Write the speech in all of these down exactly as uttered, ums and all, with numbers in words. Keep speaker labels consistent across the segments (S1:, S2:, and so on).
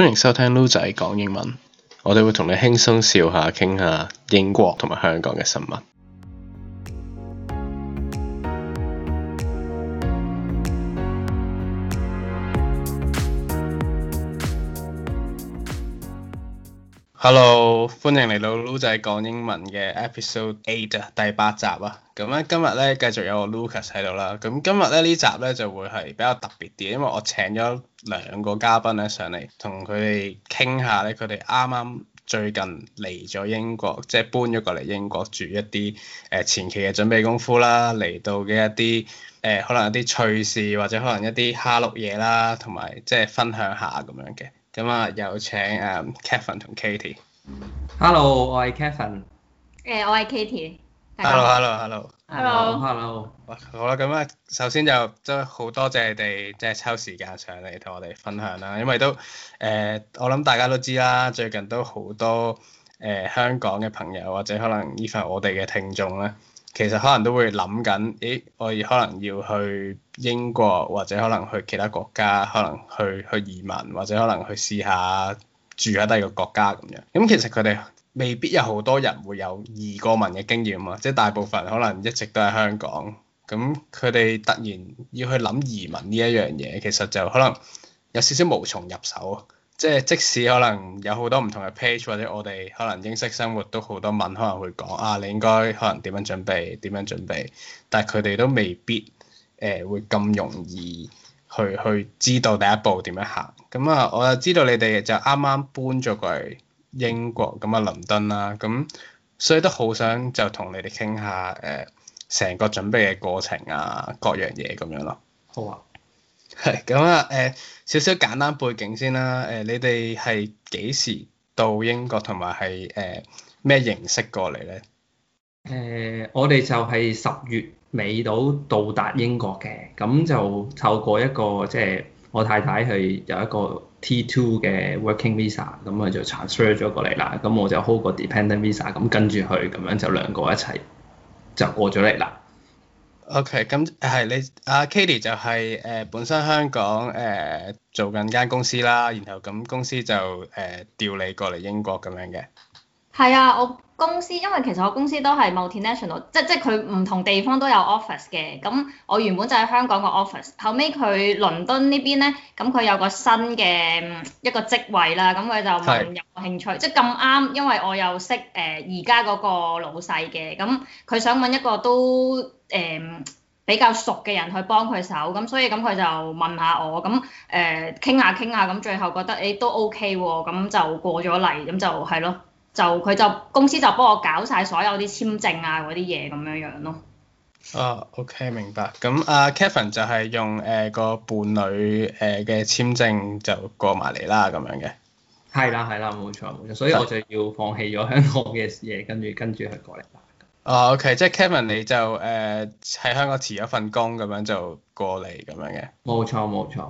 S1: 歡迎收聽撈仔講英文，我哋會同你輕鬆笑下，傾下英國同埋香港嘅新聞。Hello，歡迎嚟到撈仔講英文嘅 episode eight 啊，第八集啊。咁咧今日咧繼續有我 Lucas 喺度啦。咁今日咧呢集咧就會係比較特別啲，因為我請咗兩個嘉賓咧上嚟，同佢哋傾下咧，佢哋啱啱最近嚟咗英國，即係搬咗過嚟英國住一啲誒、呃、前期嘅準備功夫啦，嚟到嘅一啲誒、呃、可能一啲趣事或者可能一啲蝦碌嘢啦，同埋即係分享下咁樣嘅。咁啊，有請誒、um, Kevin 同 Katie。
S2: Hello，我係 Kevin。
S3: 誒，我係 Katie。
S1: Hello，Hello，Hello。
S2: Hello，Hello。
S1: 好啦，咁啊，首先就都好多謝你哋即係抽時間上嚟同我哋分享啦，因為都誒、呃，我諗大家都知啦，最近都好多誒、呃、香港嘅朋友或者可能 even 我哋嘅聽眾咧，其實可能都會諗緊，咦，我哋可能要去英國或者可能去其他國家，可能去去移民或者可能去試下住喺第二個國家咁樣。咁其實佢哋未必有好多人會有移過民嘅經驗啊，即係大部分可能一直都喺香港。咁佢哋突然要去諗移民呢一樣嘢，其實就可能有少少無從入手。即係即使可能有好多唔同嘅 page 或者我哋可能英式生活都好多文可能會講啊，你應該可能點樣準備點樣準備，但係佢哋都未必誒、呃、會咁容易去去知道第一步點樣行。咁啊，我就知道你哋就啱啱搬咗過嚟英國咁啊，倫敦啦，咁所以都好想就同你哋傾下誒成個準備嘅過程啊，各樣嘢咁樣咯。
S2: 好啊。
S1: 係咁啊，誒少少簡單背景先啦。誒、呃，你哋係幾時到英國同埋係誒咩形式過嚟咧？
S2: 誒、呃，我哋就係十月尾到到達英國嘅，咁就透過一個即係、就是、我太太係有一個 T two 嘅 working visa，咁佢就 transfer 咗過嚟啦。咁我就 hold 個 dependent visa，咁跟住佢咁樣就兩個一齊就過咗嚟啦。
S1: OK，咁係你阿 Katie 就係、是、誒、呃、本身香港誒、呃、做緊間公司啦，然後咁公司就誒、呃、調你過嚟英國咁樣嘅。
S3: 係啊，我公司因為其實我公司都係 multinational，即即佢唔同地方都有 office 嘅。咁我原本就喺香港個 office，後尾佢倫敦呢邊咧，咁佢有個新嘅一個職位啦，咁佢就問有冇興趣，是即咁啱，因為我又識誒而家嗰個老細嘅，咁佢想揾一個都誒、呃、比較熟嘅人去幫佢手，咁所以咁佢就問下我，咁誒傾下傾下，咁最後覺得誒、欸、都 OK 喎，咁就過咗嚟，咁就係咯。就佢就公司就幫我搞晒所有啲簽證啊嗰啲嘢咁樣樣咯。
S1: 哦 OK 明白。咁阿、uh, Kevin 就係用誒、呃、個伴侶誒嘅簽證就過埋嚟啦咁樣嘅。
S2: 係啦係啦，冇錯冇錯，所以我就要放棄咗香港嘅嘢，跟住跟住佢過嚟啦。
S1: 哦 OK，即係 Kevin 你就誒喺、呃、香港辭咗份工咁樣就過嚟咁樣嘅。
S2: 冇錯冇錯。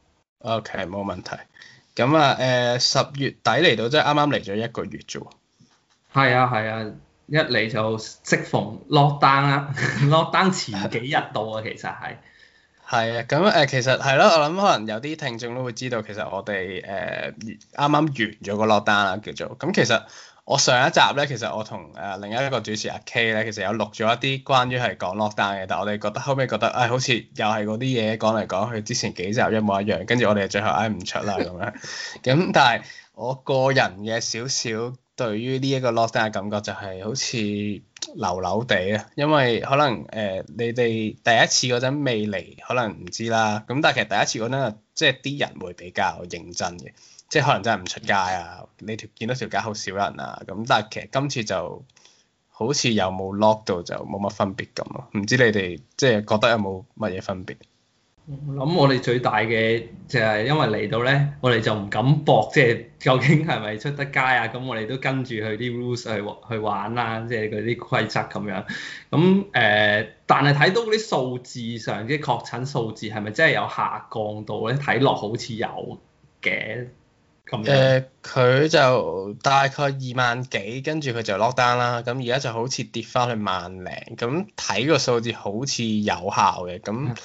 S1: OK 冇問題。咁啊誒十月底嚟到，即係啱啱嚟咗一個月啫喎。
S2: 係啊係啊，一嚟就適逢 lockdown 啦，lockdown 前幾日到啊，其實係。係
S1: 啊，咁誒、呃、其實係咯，我諗可能有啲聽眾都會知道，其實我哋誒啱啱完咗個 lockdown 啦，叫做。咁其實我上一集咧，其實我同誒、呃、另一個主持阿 K 咧，其實有錄咗一啲關於係講 lockdown 嘅，但係我哋覺得後尾覺得誒、哎、好似又係嗰啲嘢講嚟講去，之前幾集一模一樣，跟住我哋最後嗌唔出啦咁樣。咁但係我個人嘅少少對於呢一個 lockdown 嘅感覺就係好似流流地啊，因為可能誒、呃、你哋第一次嗰陣未嚟，可能唔知啦。咁但係其實第一次嗰陣，即係啲人會比較認真嘅。即係可能真係唔出街啊，你條見到條街好少人啊，咁但係其實今次就好似有冇 lock 到就冇乜分別咁咯，唔知你哋即係覺得有冇乜嘢分別？
S2: 我諗我哋最大嘅就係因為嚟到咧，我哋就唔敢搏，即係究竟係咪出得街啊？咁我哋都跟住佢啲 rules 去去玩啦，即係嗰啲規則咁樣。咁誒、呃，但係睇到嗰啲數字上啲確診數字係咪真係有下降到咧？睇落好似有嘅。
S1: 誒佢、呃、就大概二萬幾，跟住佢就 lock down 啦。咁而家就好似跌翻去萬零，咁睇個數字好似有效嘅。咁誒、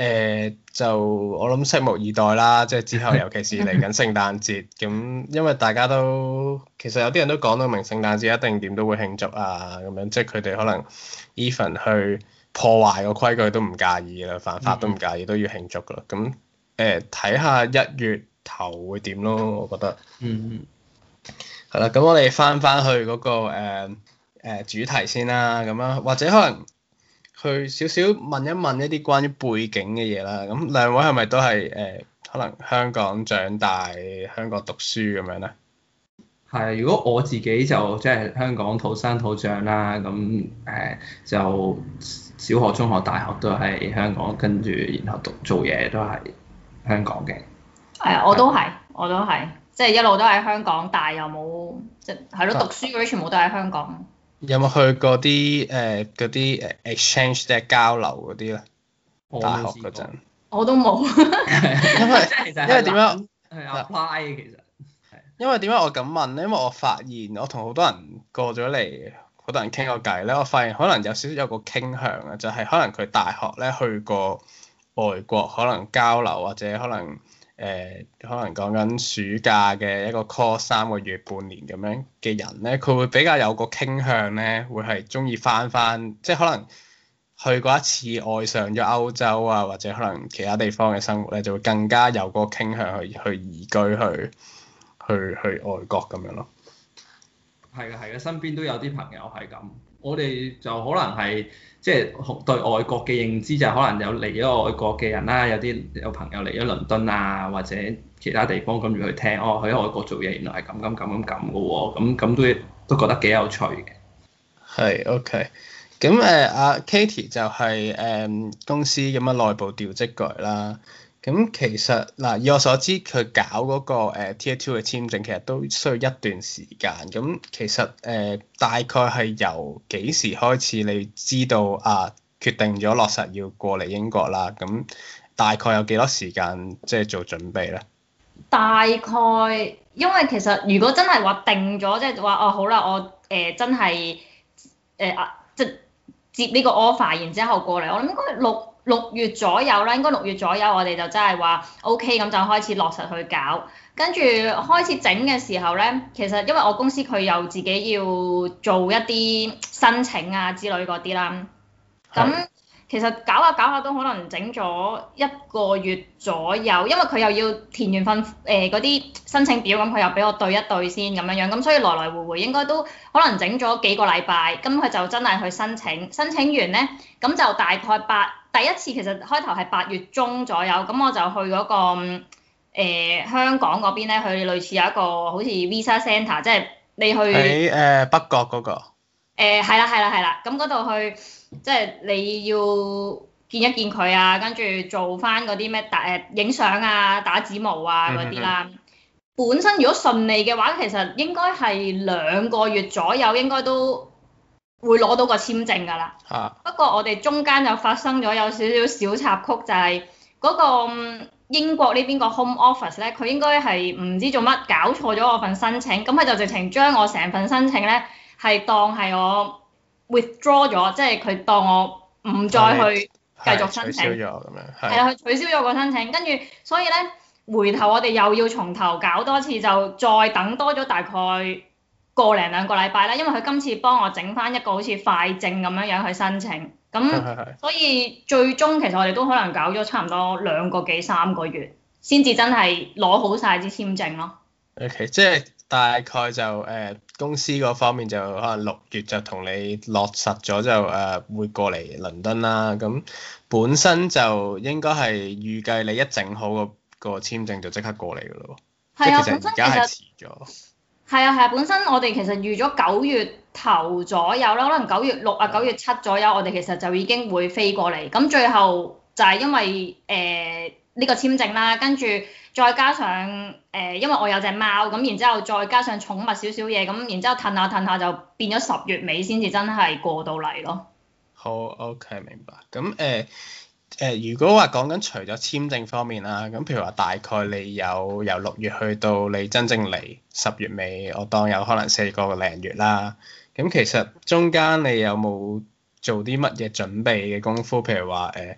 S1: 誒就我諗拭目以待啦，即係之後尤其是嚟緊聖誕節，咁因為大家都其實有啲人都講到明聖誕節一定點都會慶祝啊咁樣，即係佢哋可能 even 去破壞個規矩都唔介意啦，犯法都唔介意，都要慶祝噶啦。咁誒睇下一月頭會點咯，我覺得。
S2: 嗯。
S1: 係啦，咁我哋翻翻去嗰個誒、呃呃、主題先啦，咁樣或者可能去少少問一問一啲關於背景嘅嘢啦。咁兩位係咪都係誒、呃、可能香港長大、香港讀書咁樣咧？
S2: 係啊，如果我自己就即係香港土生土長啦，咁誒、呃、就小學、中學、大學都係香港，跟住然後讀做嘢都係香港嘅。
S3: 係啊，我都係，我都係，即係一路都喺香港，但係又冇即係係咯，讀書嗰啲全部都喺香港。
S1: 有冇去過啲誒嗰啲誒 exchange 即係交流嗰啲咧？大學嗰陣
S3: 我都冇。
S1: 因為因為點樣
S2: 係 apply 嘅其實。
S1: 因為點解我咁問咧？因為我發現我同好多人過咗嚟，好多人傾過偈咧，我發現可能有少少有個傾向啊，就係可能佢大學咧去過外國，可能交流或者可能。誒、呃、可能講緊暑假嘅一個 course 三個月半年咁樣嘅人咧，佢會比較有個傾向咧，會係中意翻翻，即係可能去過一次愛上咗歐洲啊，或者可能其他地方嘅生活咧，就會更加有個傾向去去移居去去去外國咁樣咯。
S2: 係嘅，係嘅，身邊都有啲朋友係咁。我哋就可能係即係對外國嘅認知就可能有嚟咗外國嘅人啦，有啲有朋友嚟咗倫敦啊，或者其他地方跟住去聽，哦，去外國做嘢原來係咁咁咁咁咁嘅喎，咁咁都都覺得幾有趣嘅。
S1: 係 OK，咁誒阿 Katie 就係、是、誒、呃、公司咁樣內部調職過嚟啦。咁其實嗱，以我所知，佢搞嗰個 Tier Two 嘅簽證，其實都需要一段時間。咁其實誒、呃、大概係由幾時開始你知道啊，決定咗落實要過嚟英國啦？咁大概有幾多時間即係做準備咧？
S3: 大概因為其實如果真係話定咗，即係話哦好啦，我誒、呃、真係誒啊即係接呢個 offer，然之後過嚟，我諗應該六。六月左右啦，應該六月左右，我哋就真係話 OK，咁就開始落實去搞。跟住開始整嘅時候咧，其實因為我公司佢又自己要做一啲申請啊之類嗰啲啦。咁其實搞下搞下都可能整咗一個月左右，因為佢又要填完份誒嗰啲申請表，咁佢又俾我對一對先咁樣樣，咁所以來來回回應該都可能整咗幾個禮拜，咁佢就真係去申請，申請完咧，咁就大概八第一次其實開頭係八月中左右，咁我就去嗰、嗰個、呃、香港嗰邊咧，佢類似有一個好似 Visa Centre，即係你去
S1: 喺誒、呃、北角嗰、嗰個。
S3: 誒係啦係啦係啦，咁嗰度去即係你要見一見佢啊，跟住做翻嗰啲咩打誒影相啊、打指模啊嗰啲啦。嗯、本身如果順利嘅話，其實應該係兩個月左右應該都會攞到個簽證㗎啦。啊、不過我哋中間就發生咗有少少小插曲，就係、是、嗰個英國呢邊個 Home Office 咧，佢應該係唔知做乜搞錯咗我份申請，咁佢就直情將我成份申請咧。係當係我 withdraw 咗，即係佢當我唔再去繼續申請，係啊，佢取消咗個申請，跟住所以咧回頭我哋又要從頭搞多次，就再等多咗大概個零兩個禮拜啦，因為佢今次幫我整翻一個好似快證咁樣樣去申請，咁所以最終其實我哋都可能搞咗差唔多兩個幾三個月，先至真係攞好晒支簽證咯。
S1: OK， 即係大概就誒、呃、公司嗰方面就可能六月就同你落實咗就誒、呃、會過嚟倫敦啦。咁本身就應該係預計你一整好個個簽證就即刻過嚟㗎咯。係啊，即係其實而家係遲咗。
S3: 係啊係啊，本身我哋其實預咗九月頭左右啦，可能九月六啊九月七左右，我哋其實就已經會飛過嚟。咁最後就係因為誒呢、呃呢個簽證啦，跟住。再加上誒、呃，因為我有隻貓，咁然之後再加上寵物少少嘢，咁然之後褪下褪下就變咗十月尾先至真係過到嚟咯。
S1: 好 OK， 明白。咁誒誒，如果話講緊除咗簽證方面啦，咁譬如話大概你有由六月去到你真正嚟十月尾，我當有可能四個零月啦。咁其實中間你有冇做啲乜嘢準備嘅功夫？譬如話誒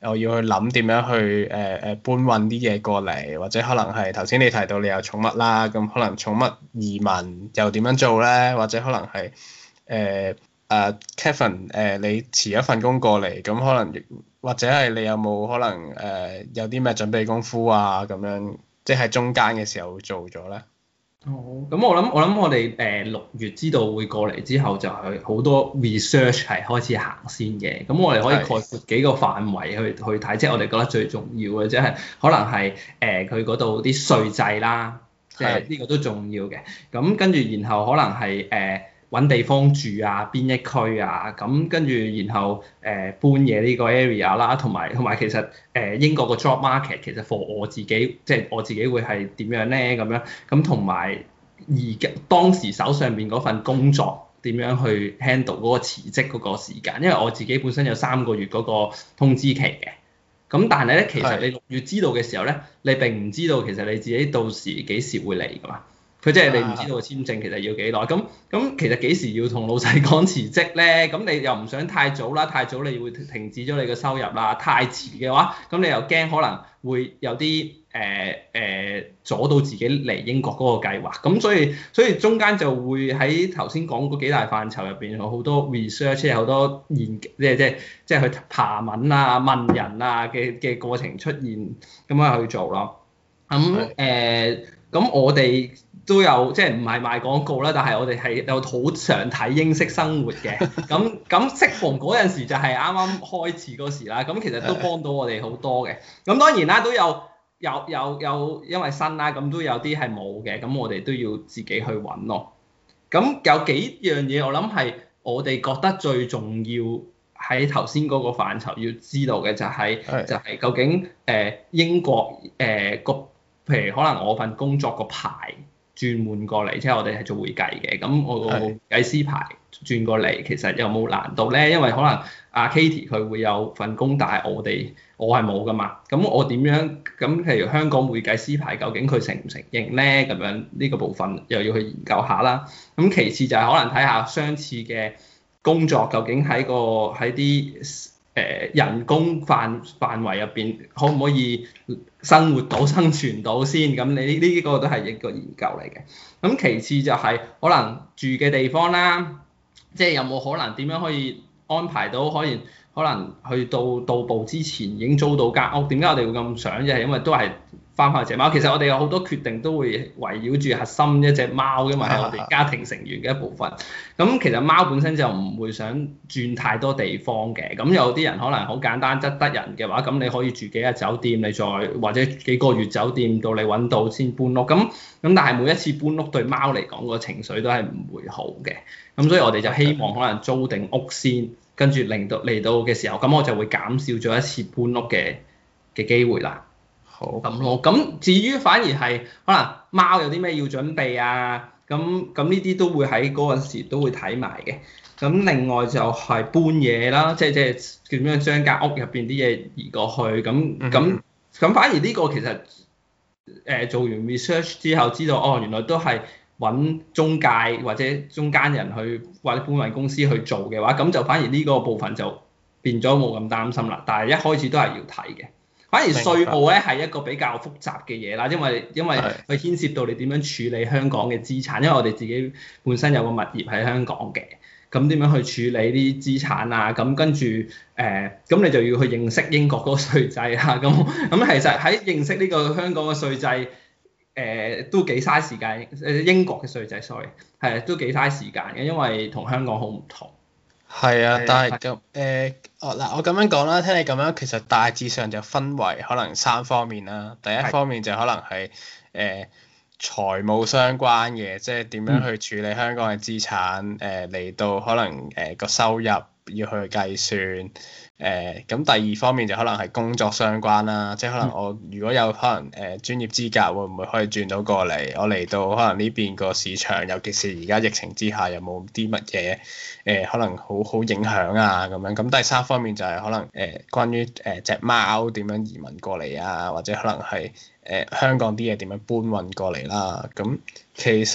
S1: 我要去諗點樣去誒誒、呃、搬運啲嘢過嚟，或者可能係頭先你提到你有寵物啦，咁可能寵物移民又點樣做咧？或者可能係誒誒 Kevin 誒、呃、你辭一份工過嚟，咁可能或者係你有冇可能誒、呃、有啲咩準備功夫啊咁樣，即係中間嘅時候做咗咧？
S2: 哦，咁我諗我諗我哋誒六月知道會過嚟之後，就係好多 research 係開始行先嘅。咁我哋可以概括幾個範圍去去睇，即係我哋覺得最重要嘅，即係可能係誒佢嗰度啲稅制啦，即係呢個都重要嘅。咁跟住然後可能係誒揾地方住啊，邊一區啊，咁跟住然後誒、呃、搬嘢呢個 area 啦，同埋同埋其實誒、呃、英國個 job market 其實 for 我自己，即係我自己會係點樣咧咁樣，咁同埋而家當時手上邊嗰份工作點樣去 handle 嗰個辭職嗰個時間，因為我自己本身有三個月嗰個通知期嘅，咁但係咧其實你六月知道嘅時候咧，你並唔知道其實你自己到時幾時會嚟㗎嘛。佢即係你唔知道個簽證其實要幾耐，咁咁其實幾時要同老細講辭職咧？咁你又唔想太早啦，太早你會停止咗你嘅收入啦。太遲嘅話，咁你又驚可能會有啲誒誒阻到自己嚟英國嗰個計劃。咁所以所以中間就會喺頭先講嗰幾大範疇入邊有好多 research，有好多研即係即係即係去爬文啊、問人啊嘅嘅過程出現，咁樣去做咯。咁誒咁我哋都有即係唔係賣廣告啦，但係我哋係有好常睇英式生活嘅，咁咁適逢嗰陣時就係啱啱開始嗰時啦，咁其實都幫到我哋好多嘅。咁當然啦，都有有有有因為新啦，咁都有啲係冇嘅，咁我哋都要自己去揾咯。咁有幾樣嘢我諗係我哋覺得最重要喺頭先嗰個範疇要知道嘅就係、是、就係、是、究竟誒、呃、英國誒個、呃、譬如可能我份工作個牌轉換過嚟，即係我哋係做會計嘅，咁我個會計師牌轉過嚟，其實有冇難度咧？因為可能阿 Katie 佢會有份工，但係我哋我係冇噶嘛。咁我點樣？咁譬如香港會計師牌，究竟佢承唔承認咧？咁樣呢個部分又要去研究下啦。咁其次就係可能睇下相似嘅工作，究竟喺個喺啲誒人工範範圍入邊，可唔可以生活到生存到先？咁你呢呢個都係一個研究嚟嘅。咁其次就係可能住嘅地方啦，即係有冇可能點樣可以安排到可以可能去到到步之前已經租到間屋？點解我哋會咁想？就係因為都係翻返隻貓。其實我哋有好多決定都會圍繞住核心一隻貓，因為係我哋家庭成員嘅一部分。咁其實貓本身就唔會想轉太多地方嘅。咁有啲人可能好簡單質得人嘅話，咁你可以住幾日酒店，你再或者幾個月酒店到你揾到先搬屋。咁咁但係每一次搬屋對貓嚟講個情緒都係唔會好嘅。咁所以我哋就希望可能租定屋先，跟住令到嚟到嘅時候，咁我就會減少咗一次搬屋嘅嘅機會啦。
S1: 好
S2: 咁咯，咁至於反而係可能貓有啲咩要準備啊，咁咁呢啲都會喺嗰陣時都會睇埋嘅。咁另外就係搬嘢啦，即係即係點樣將間屋入邊啲嘢移過去，咁咁咁反而呢個其實誒、呃、做完 research 之後知道，哦原來都係揾中介或者中間人去或者搬運公司去做嘅話，咁就反而呢個部分就變咗冇咁擔心啦。但係一開始都係要睇嘅。反而稅務咧係一個比較複雜嘅嘢啦，因為因為佢牽涉到你點樣處理香港嘅資產，因為我哋自己本身有個物業喺香港嘅，咁點樣去處理啲資產啊？咁跟住誒，咁、呃、你就要去認識英國嗰個稅制啊。咁咁其實喺認識呢個香港嘅稅制，誒、呃、都幾嘥時間。誒英國嘅稅制，sorry，係都幾嘥時間嘅，因為同香港好唔同。
S1: 係啊，但係咁誒，哦嗱，我咁樣講啦，聽你咁樣，其實大致上就分為可能三方面啦。第一方面就可能係誒、呃、財務相關嘅，即係點樣去處理香港嘅資產，誒嚟、呃、到可能誒個、呃、收入要去計算。誒咁、呃、第二方面就可能係工作相關啦，即係可能我如果有可能誒、呃、專業資格，會唔會可以轉到過嚟？我嚟到可能呢邊個市場，尤其是而家疫情之下，有冇啲乜嘢誒可能好好影響啊咁樣？咁第三方面就係可能誒、呃、關於誒隻貓點樣移民過嚟啊，或者可能係誒、呃、香港啲嘢點樣搬運過嚟啦。咁其實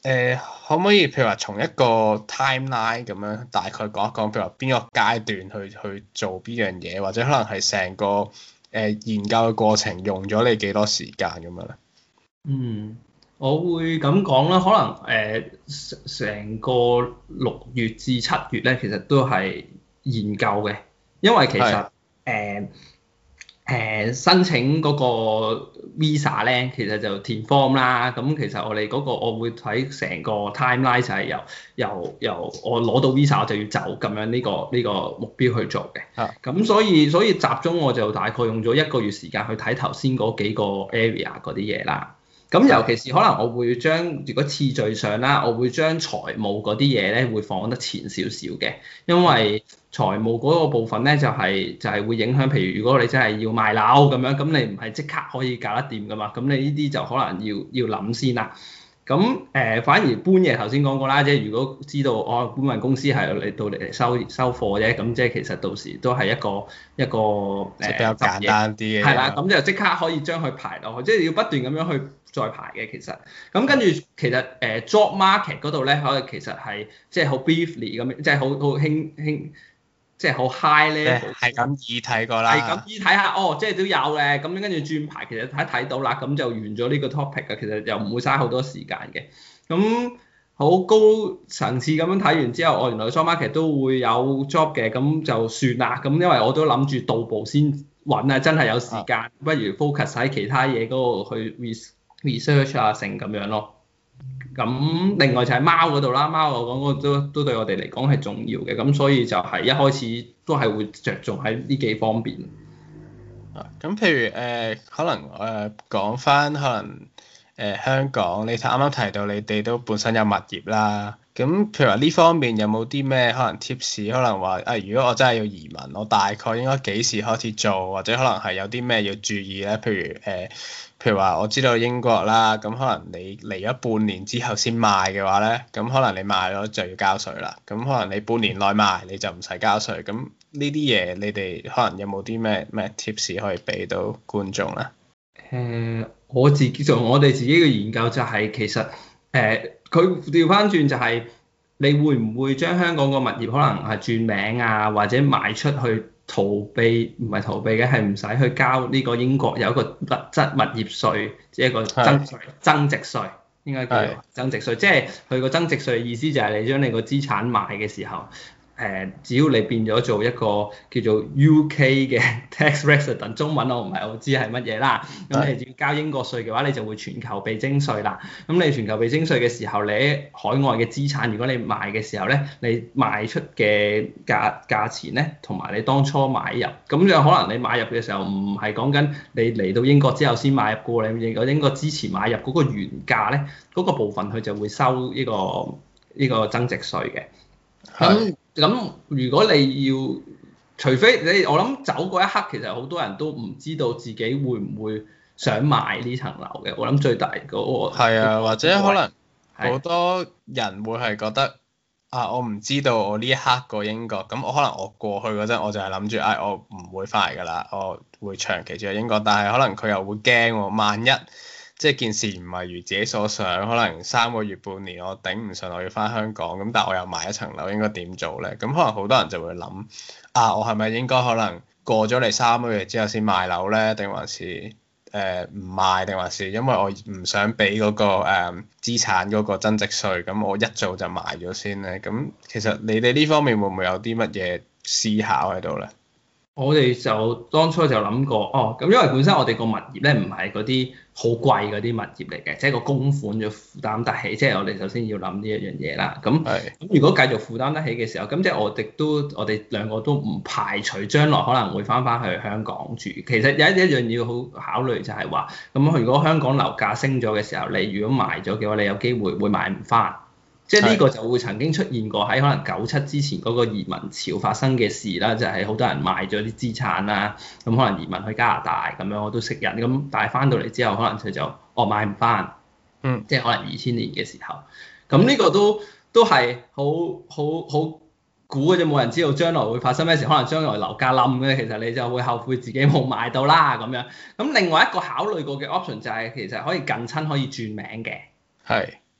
S1: 誒，可唔可以譬如話從一個 timeline 咁樣大概講一講，譬如話邊個階段去去做邊樣嘢，或者可能係成個誒、呃、研究嘅過程用咗你幾多時間咁樣咧？
S2: 嗯，我會咁講啦，可能誒成、呃、個六月至七月咧，其實都係研究嘅，因為其實誒誒申請嗰個 visa 咧，其實就填 form 啦。咁其實我哋嗰個我會睇成個 timeline 就係由由由我攞到 visa 我就要走咁樣呢、這個呢、這個目標去做嘅。咁、啊、所以所以集中我就大概用咗一個月時間去睇頭先嗰幾個 area 嗰啲嘢啦。咁尤其是可能我會將如果次序上啦，我會將財務嗰啲嘢咧會放得前少少嘅，因為財務嗰個部分咧就係、是、就係、是、會影響，譬如如果你真係要賣樓咁樣，咁你唔係即刻可以搞得掂噶嘛，咁你呢啲就可能要要諗先啦。咁誒、呃、反而搬嘢頭先講過啦，即係如果知道我、哦、搬運公司係嚟到嚟收收貨啫，咁即係其實到時都係一個一個誒
S1: 比較簡單啲嘅，
S2: 係啦，咁就即刻可以將佢排落去，即係要不斷咁樣去再排嘅其實。咁跟住其實誒、呃、job market 嗰度咧，可能其實係即係好 briefly 咁樣，即係好好輕輕。即係好 high level，
S1: 係咁易睇過啦，
S2: 係咁易睇下哦，即係都有嘅，咁跟住轉排，其實睇睇到啦，咁就完咗呢個 topic 嘅，其實又唔會嘥好多時間嘅。咁好高層次咁樣睇完之後，我、哦、原來 job market 都會有 job 嘅，咁就算啦。咁因為我都諗住到步先揾啊，真係有時間，啊、不如 focus 喺其他嘢嗰度去 research 啊，成咁樣咯。咁另外就係貓嗰度啦，貓我講嗰個都都對我哋嚟講係重要嘅，咁所以就係一開始都係會着重喺呢幾方面。
S1: 啊，咁譬如誒、呃，可能誒講翻可能誒、呃、香港，你啱啱提到你哋都本身有物業啦，咁譬如話呢方面有冇啲咩可能 tips，可能話啊、呃，如果我真係要移民，我大概應該幾時開始做，或者可能係有啲咩要注意咧？譬如誒。呃譬如話我知道英國啦，咁可能你嚟咗半年之後先賣嘅話咧，咁可能你賣咗就要交稅啦。咁可能你半年內賣你就唔使交稅。咁呢啲嘢你哋可能有冇啲咩咩 tips 可以俾到觀眾咧？
S2: 誒、呃，我自己做我哋自己嘅研究就係其實誒，佢調翻轉就係你會唔會將香港個物業可能係轉名啊，或者賣出去？逃避唔係逃避嘅，係唔使去交呢個英國有一個物質物業稅，即係一個增稅增值稅，應該叫做增值稅。即係佢個增值稅嘅意思就係你將你個資產賣嘅時候。誒，只要你變咗做一個叫做 U K 嘅 tax resident， 中文我唔係好知係乜嘢啦。咁你只要交英國稅嘅話，你就會全球被徵稅啦。咁你全球被徵稅嘅時候，你喺海外嘅資產，如果你賣嘅時候咧，你賣出嘅價價錢咧，同埋你當初買入，咁就可能你買入嘅時候唔係講緊你嚟到英國之後先買入過，你嚟到英國之前買入嗰個原價咧，嗰、嗰個部分佢就會收呢個呢個增值稅嘅。咁咁如果你要，除非你我諗走嗰一刻，其實好多人都唔知道自己會唔會想買呢層樓嘅。我諗最大嗰個係
S1: 啊，或者可能好多人會係覺得啊，我唔知道我呢一刻過英國，咁我可能我過去嗰陣我就係諗住，唉、哎，我唔會翻嚟㗎啦，我會長期住喺英國，但係可能佢又會驚喎，萬一。即係件事唔係如自己所想，可能三個月半年我頂唔順，我要翻香港，咁但係我又買一層樓，應該點做咧？咁可能好多人就會諗啊，我係咪應該可能過咗嚟三個月之後先賣樓咧？定還是誒唔、呃、賣？定還是因為我唔想俾嗰、嗰個誒、呃、資產嗰個增值稅，咁我一早就賣咗先咧？咁其實你哋呢方面會唔會有啲乜嘢思考喺度咧？
S2: 我哋就當初就諗過，哦，咁因為本身我哋個物業咧唔係嗰啲好貴嗰啲物業嚟嘅，即係個供款就負擔得起，即係我哋首先要諗呢一樣嘢啦。咁咁
S1: 是
S2: 如果繼續負擔得起嘅時候，咁即係我哋都我哋兩個都唔排除將來可能會翻返去香港住。其實有一一樣要好考慮就係話，咁如果香港樓價升咗嘅時候，你如果賣咗嘅話，你有機會會買唔翻。即係呢個就會曾經出現過喺可能九七之前嗰個移民潮發生嘅事啦，就係、是、好多人賣咗啲資產啦，咁可能移民去加拿大咁樣，我都識人咁，但係翻到嚟之後可能佢就哦買唔翻，
S1: 嗯，
S2: 即係可能二千年嘅時候，咁呢個都都係好好好估嘅啫，冇人知道將來會發生咩事，可能將來樓價冧嘅，其實你就會後悔自己冇買到啦咁樣。咁另外一個考慮過嘅 option 就係其實可以近親可以轉名嘅，
S1: 係。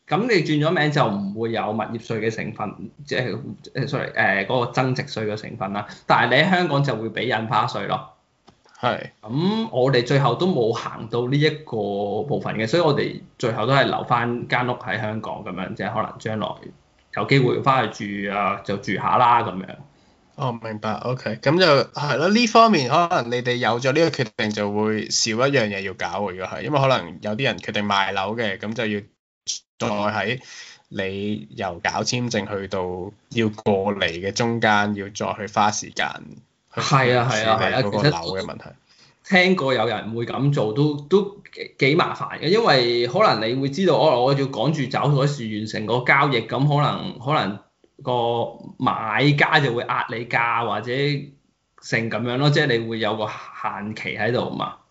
S2: 咁你轉咗名就唔會有物業稅嘅成分，即係誒 sorry 誒嗰個增值稅嘅成分啦。但係你喺香港就會俾印花稅咯。
S1: 係。
S2: 咁我哋最後都冇行到呢一個部分嘅，所以我哋最後都係留翻間屋喺香港咁樣，即係可能將來有機會翻去住啊，就住下啦咁樣。
S1: 哦，明白，OK，咁就係咯。呢方面可能你哋有咗呢個決定，就會少一樣嘢要搞喎。如果係，因為可能有啲人決定賣樓嘅，咁就要再喺你由搞簽證去到要過嚟嘅中間，要再去花時間去處理
S2: 係啊係啊係啊，
S1: 嗰個樓嘅問題。
S2: 聽過有人會咁做，都都幾幾麻煩嘅，因為可能你會知道，哦，我要趕住走嗰時完成個交易，咁可能可能個買家就會壓你價或者成咁樣咯，即係你會有個限期喺度嘛。